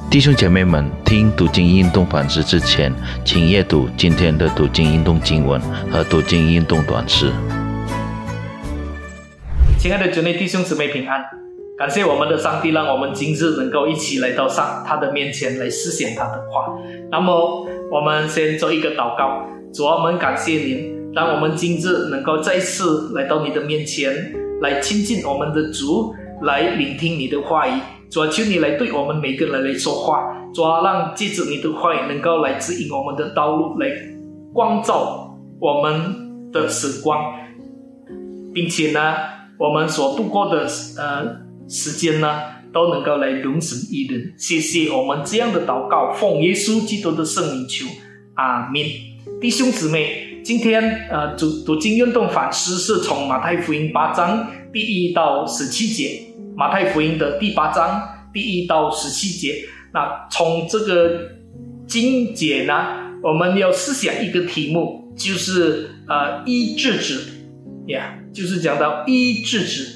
弟兄姐妹们，听读经运动反思之前，请阅读今天的读经运动经文和读经运动短诗。 亲爱的主内弟兄姊妹平安，感谢我们的上帝，让我们今日能够一起来到他的面前来思想他的话。那么我们先做一个祷告。主啊，我们感谢您，让我们今日能够再次来到你的面前，来亲近我们的主，来聆听你的话语。主啊，求你来对我们每个人来说话。主啊，让借着你的话语能够来指引我们的道路，来光照我们的时光，并且呢，我们所度过的时间呢，都能够来荣神益人。谢谢我们这样的祷告，奉耶稣基督的圣名求，阿们。弟兄姊妹，今天读经运动反思是从马太福音8章第1到17节，马太福音的第8章第1到17节。那从这个经节呢，我们要思想一个题目，就是医治者，就是讲到医治者。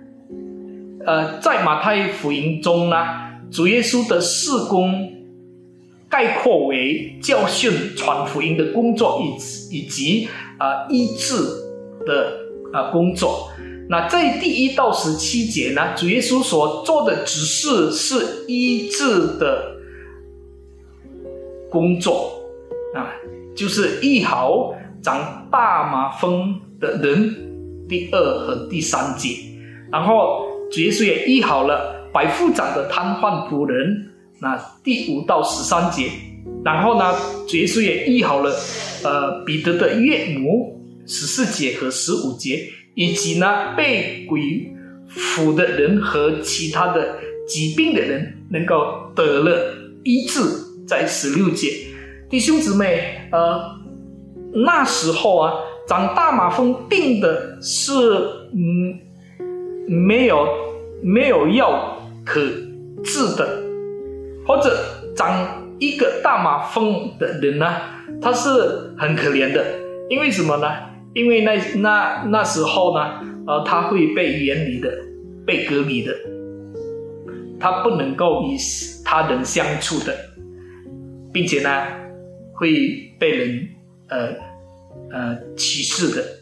在马太福音中呢，主耶稣的事工概括为教训、传福音的工作，以及医治的工作。那在第1到17节呢，主耶稣所做的指示是医治的工作，就是医好长大麻风的人，第2和第3节。然后主耶稣也医好了百夫长的瘫痪仆人，那第5到13节。然后呢，主耶稣也医好了彼得的岳母14节和15节，以及呢被鬼附的人和其他的疾病的人能够得了医治，在16节。弟兄姊妹，那时候长大麻风病的是没有药可治的，或者长一个大麻风的人呢，他是很可怜的。因为什么呢？因为那时候呢，他会被远离的，被隔离的，他不能够与他人相处的，并且呢，会被人歧视的。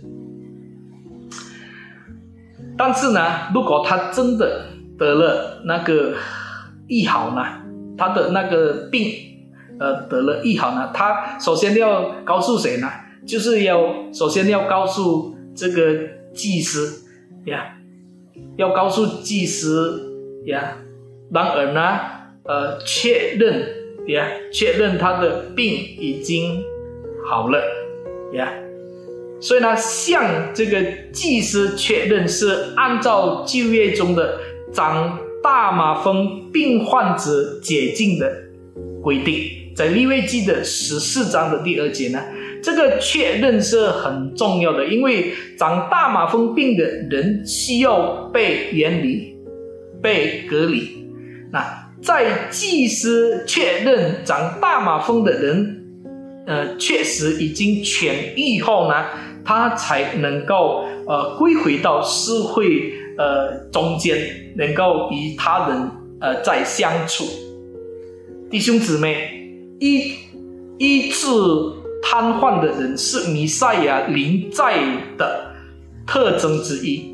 但是呢，如果他真的得了那个医好呢，他的那个病得了医好呢，他首先要告诉谁呢？就是首先要告诉这个祭司要告诉祭司然而呢确认他的病已经好了所以呢，向这个祭司确认是按照旧约中的长大麻风病患者解禁的规定，在利未记的14章的第2节呢，这个确认是很重要的，因为长大麻风病的人需要被远离、被隔离。那在祭司确认长大麻风的人确实已经痊愈后呢，他才能够归回到社会中间，能够与他人再相处。弟兄姊妹，医治瘫痪的人是弥赛亚临在的特征之一。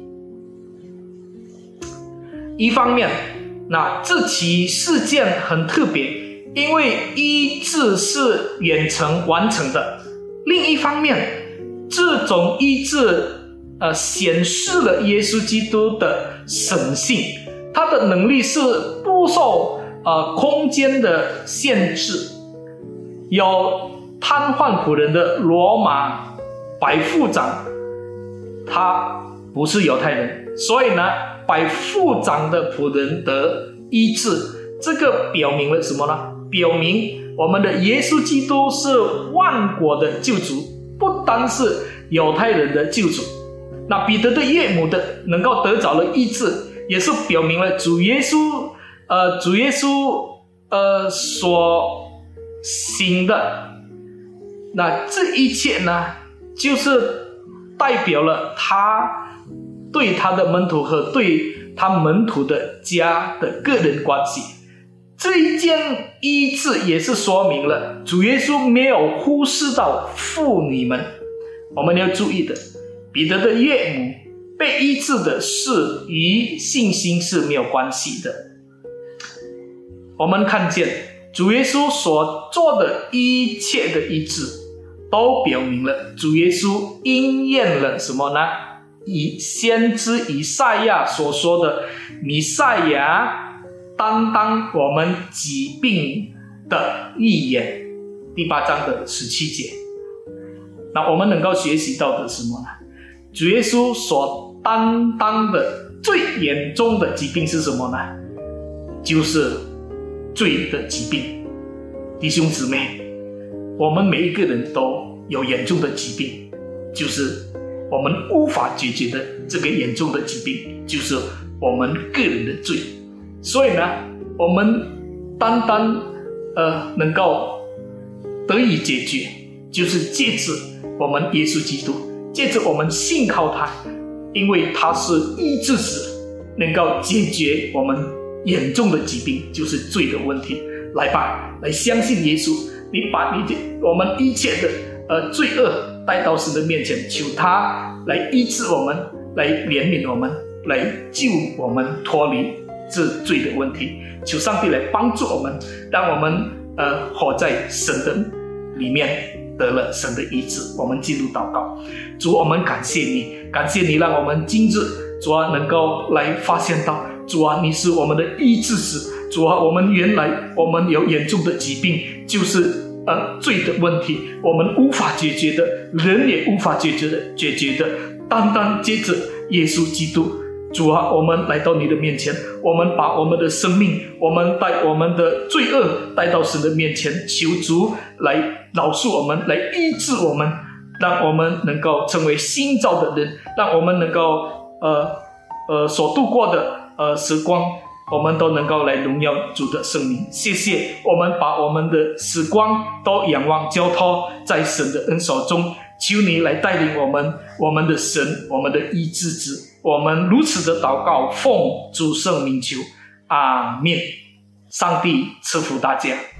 一方面，那这起事件很特别，因为医治是远程完成的。另一方面，这种医治显示了耶稣基督的神性，他的能力是不受空间的限制。有瘫痪仆人的罗马百夫长，他不是犹太人，所以呢，百夫长的仆人得医治。这个表明了什么呢？表明我们的耶稣基督是万国的救主，不单是犹太人的救主。那彼得的岳母能够得着了医治，也是表明了主耶稣所行的。那这一切呢，就是代表了他对他的门徒和对他门徒的家的个人关系。 这一件医治也是说明了主耶稣没有忽视到妇女们。我们要注意的，彼得的岳母被医治的事与信心是没有关系的。我们看见主耶稣所做的一切的医治，都表明了主耶稣应验了什么呢？以先知以赛亚所说的弥赛亚担当我们疾病的预言，第8章的17节。那我们能够学习到的是什么呢？主耶稣所担当的最严重的疾病是什么呢？就是罪的疾病。弟兄姊妹，我们每一个人都有严重的疾病，就是我们无法解决的这个严重的疾病，就是我们个人的罪。所以呢，我们单单能够得以解决，就是借着我们耶稣基督，借着我们信靠他，因为他是医治者，能够解决我们严重的疾病，就是罪的问题。来吧，来相信耶稣，你把我们一切的罪恶带到神的面前，求他来医治我们，来怜悯我们，来救我们脱离这罪的问题。求上帝来帮助我们，让我们活在神的里面，得了神的医治。我们进入祷告。主，我们感谢你，感谢你让我们今日主啊能够来发现到，主啊你是我们的医治者。主啊，我们原来有严重的疾病，就是罪的问题，我们无法解决的，人也无法解决的，单单接着耶稣基督。主啊，我们来到你的面前，我们把我们的生命，我们带我们的罪恶带到神的面前，求主来饶恕我们，来医治我们，让我们能够成为新造的人，让我们能够所度过的时光，我们都能够来荣耀主的圣名。谢谢，我们把我们的时光都仰望交托在神的恩手中，求你来带领我们，我们的神，我们的医治者。我们如此的祷告，奉主圣名求，阿们。上帝赐福大家。